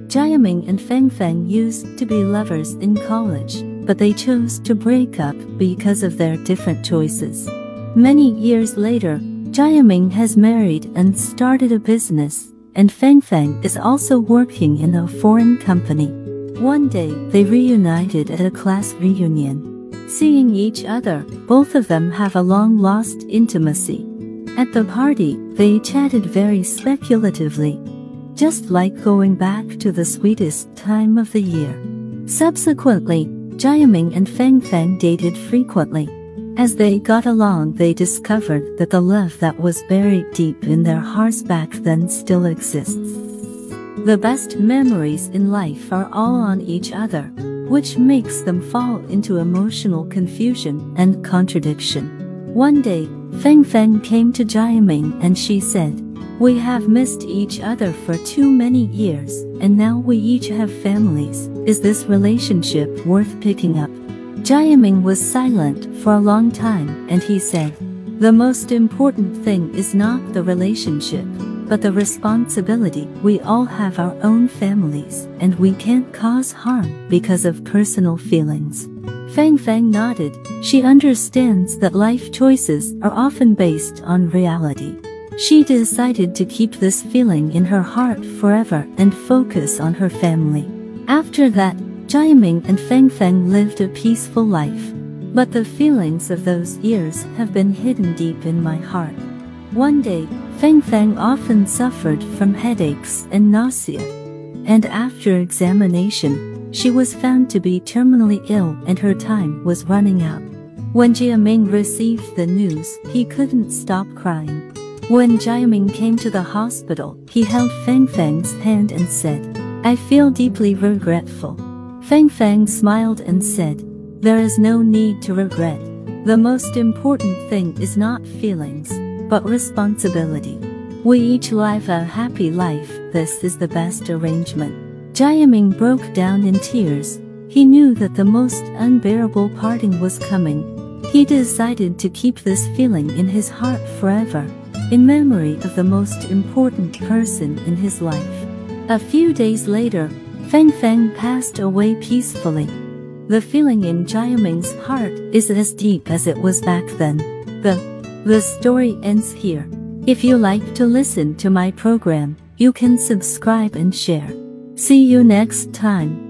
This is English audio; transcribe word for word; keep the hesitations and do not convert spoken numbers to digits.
Jiaming and Feng Feng used to be lovers in college, but they chose to break up because of their different choices. Many years later, Jiaming has married and started a business, and Feng Feng is also working in a foreign company. One day, they reunited at a class reunion. Seeing each other, both of them have a long-lost intimacy. At the party, they chatted very speculatively, just like going back to the sweetest time of the year. Subsequently, Jiaming and Feng Feng dated frequently. As they got along, they discovered that the love that was buried deep in their hearts back then still exists. The best memories in life are all on each other, which makes them fall into emotional confusion and contradiction. One day, Feng Feng came to Jiaming and she said, "We have missed each other for too many years, and now we each have families. Is this relationship worth picking up?" Jiaming was silent for a long time, and he said, "The most important thing is not the relationship, but the responsibility. We all have our own families, and we can't cause harm because of personal feelings." Feng Feng nodded. She understands that life choices are often based on reality. She decided to keep this feeling in her heart forever and focus on her family. After that, Jiaming and Feng Feng lived a peaceful life. But the feelings of those years have been hidden deep in my heart. One day, Feng Feng often suffered from headaches and nausea. And after examination, she was found to be terminally ill and her time was running out. When Jiaming received the news, he couldn't stop crying. When Jiaming came to the hospital, he held Feng Feng's hand and said, "I feel deeply regretful." Feng Feng smiled and said, "There is no need to regret. The most important thing is not feelings, but responsibility. We each live a happy life. This is the best arrangement." Jiaming broke down in tears. He knew that the most unbearable parting was coming. He decided to keep this feeling in his heart forever, in memory of the most important person in his life. A few days later, Feng Feng passed away peacefully. The feeling in Jiaming's heart is as deep as it was back then. The, the story ends here. If you like to listen to my program, you can subscribe and share. See you next time.